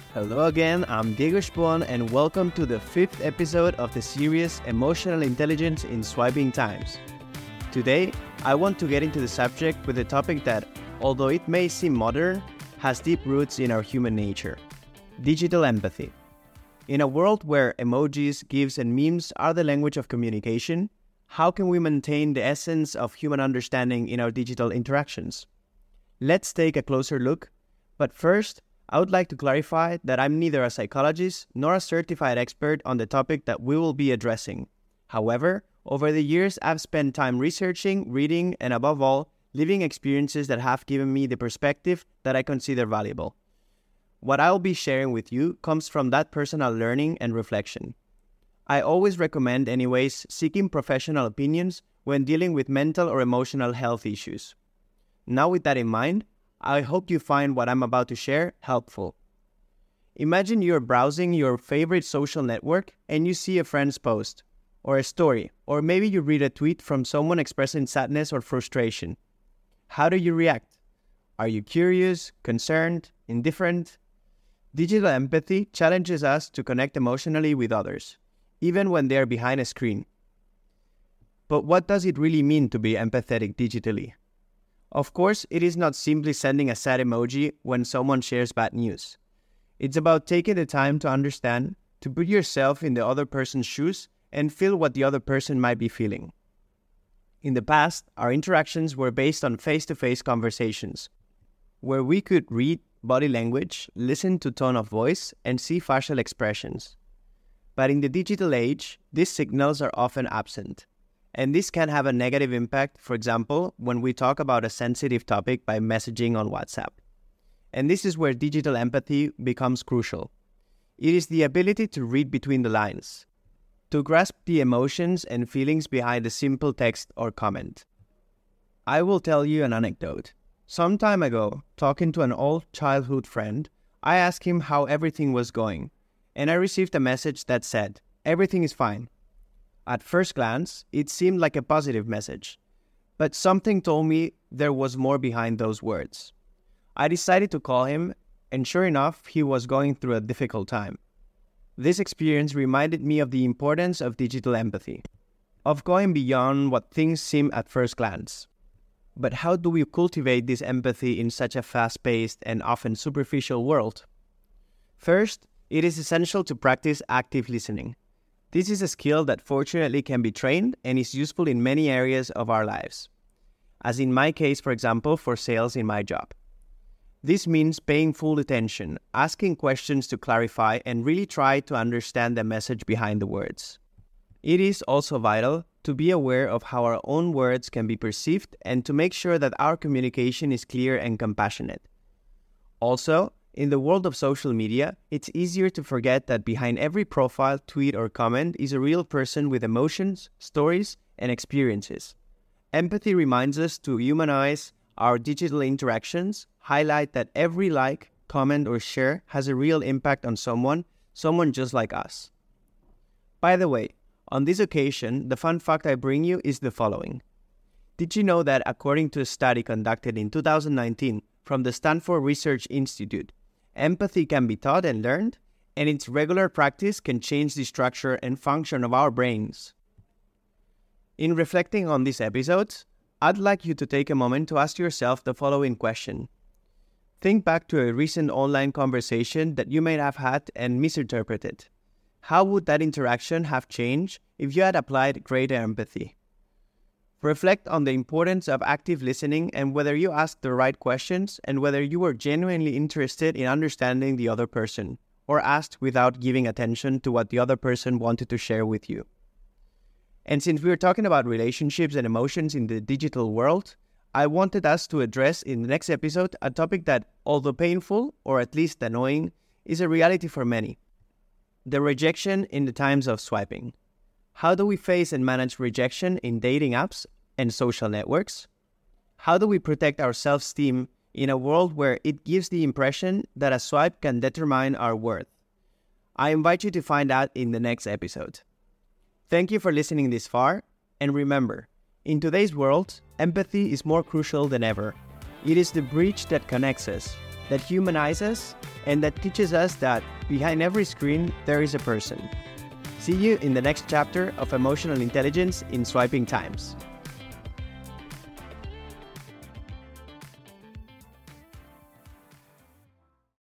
Hello again, I'm Diego Spon and welcome to the 5th episode of the series Emotional Intelligence in Swiping Times. Today, I want to get into the subject with a topic that, although it may seem modern, has deep roots in our human nature: digital empathy. In a world where emojis, GIFs, and memes are the language of communication, how can we maintain the essence of human understanding in our digital interactions? Let's take a closer look, but first, I would like to clarify that I'm neither a psychologist nor a certified expert on the topic that we will be addressing. However, over the years, I've spent time researching, reading, and above all, living experiences that have given me the perspective that I consider valuable. What I'll be sharing with you comes from that personal learning and reflection. I always recommend, anyways, seeking professional opinions when dealing with mental or emotional health issues. Now, with that in mind, I hope you find what I'm about to share helpful. Imagine you're browsing your favorite social network and you see a friend's post, or a story, or maybe you read a tweet from someone expressing sadness or frustration. How do you react? Are you curious, concerned, indifferent? Digital empathy challenges us to connect emotionally with others, even when they are behind a screen. But what does it really mean to be empathetic digitally? Of course, it is not simply sending a sad emoji when someone shares bad news. It's about taking the time to understand, to put yourself in the other person's shoes and feel what the other person might be feeling. In the past, our interactions were based on face-to-face conversations, where we could read body language, listen to tone of voice, and see facial expressions. But in the digital age, these signals are often absent. And this can have a negative impact, for example, when we talk about a sensitive topic by messaging on WhatsApp. And this is where digital empathy becomes crucial. It is the ability to read between the lines, to grasp the emotions and feelings behind a simple text or comment. I will tell you an anecdote. Some time ago, talking to an old childhood friend, I asked him how everything was going, and I received a message that said, "Everything is fine." At first glance, it seemed like a positive message, but something told me there was more behind those words. I decided to call him, and sure enough, he was going through a difficult time. This experience reminded me of the importance of digital empathy, of going beyond what things seem at first glance. But how do we cultivate this empathy in such a fast-paced and often superficial world? First, it is essential to practice active listening. This is a skill that fortunately can be trained and is useful in many areas of our lives. As in my case, for example, for sales in my job. This means paying full attention, asking questions to clarify, and really try to understand the message behind the words. It is also vital to be aware of how our own words can be perceived and to make sure that our communication is clear and compassionate. Also, in the world of social media, it's easier to forget that behind every profile, tweet, or comment is a real person with emotions, stories, and experiences. Empathy reminds us to humanize our digital interactions, highlight that every like, comment, or share has a real impact on someone just like us. By the way, on this occasion, the fun fact I bring you is the following. Did you know that according to a study conducted in 2019 from the Stanford Research Institute, empathy can be taught and learned, and its regular practice can change the structure and function of our brains? In reflecting on these episodes, I'd like you to take a moment to ask yourself the following question. Think back to a recent online conversation that you may have had and misinterpreted. How would that interaction have changed if you had applied greater empathy? Reflect on the importance of active listening and whether you asked the right questions and whether you were genuinely interested in understanding the other person, or asked without giving attention to what the other person wanted to share with you. And since we are talking about relationships and emotions in the digital world, I wanted us to address in the next episode a topic that, although painful, or at least annoying, is a reality for many: the rejection in the times of swiping. How do we face and manage rejection in dating apps and social networks? How do we protect our self-esteem in a world where it gives the impression that a swipe can determine our worth? I invite you to find out in the next episode. Thank you for listening this far, and remember, in today's world, empathy is more crucial than ever. It is the bridge that connects us. that humanize us and that teaches us that behind every screen there is a person. See you in the next chapter of Emotional Intelligence in Swiping Times.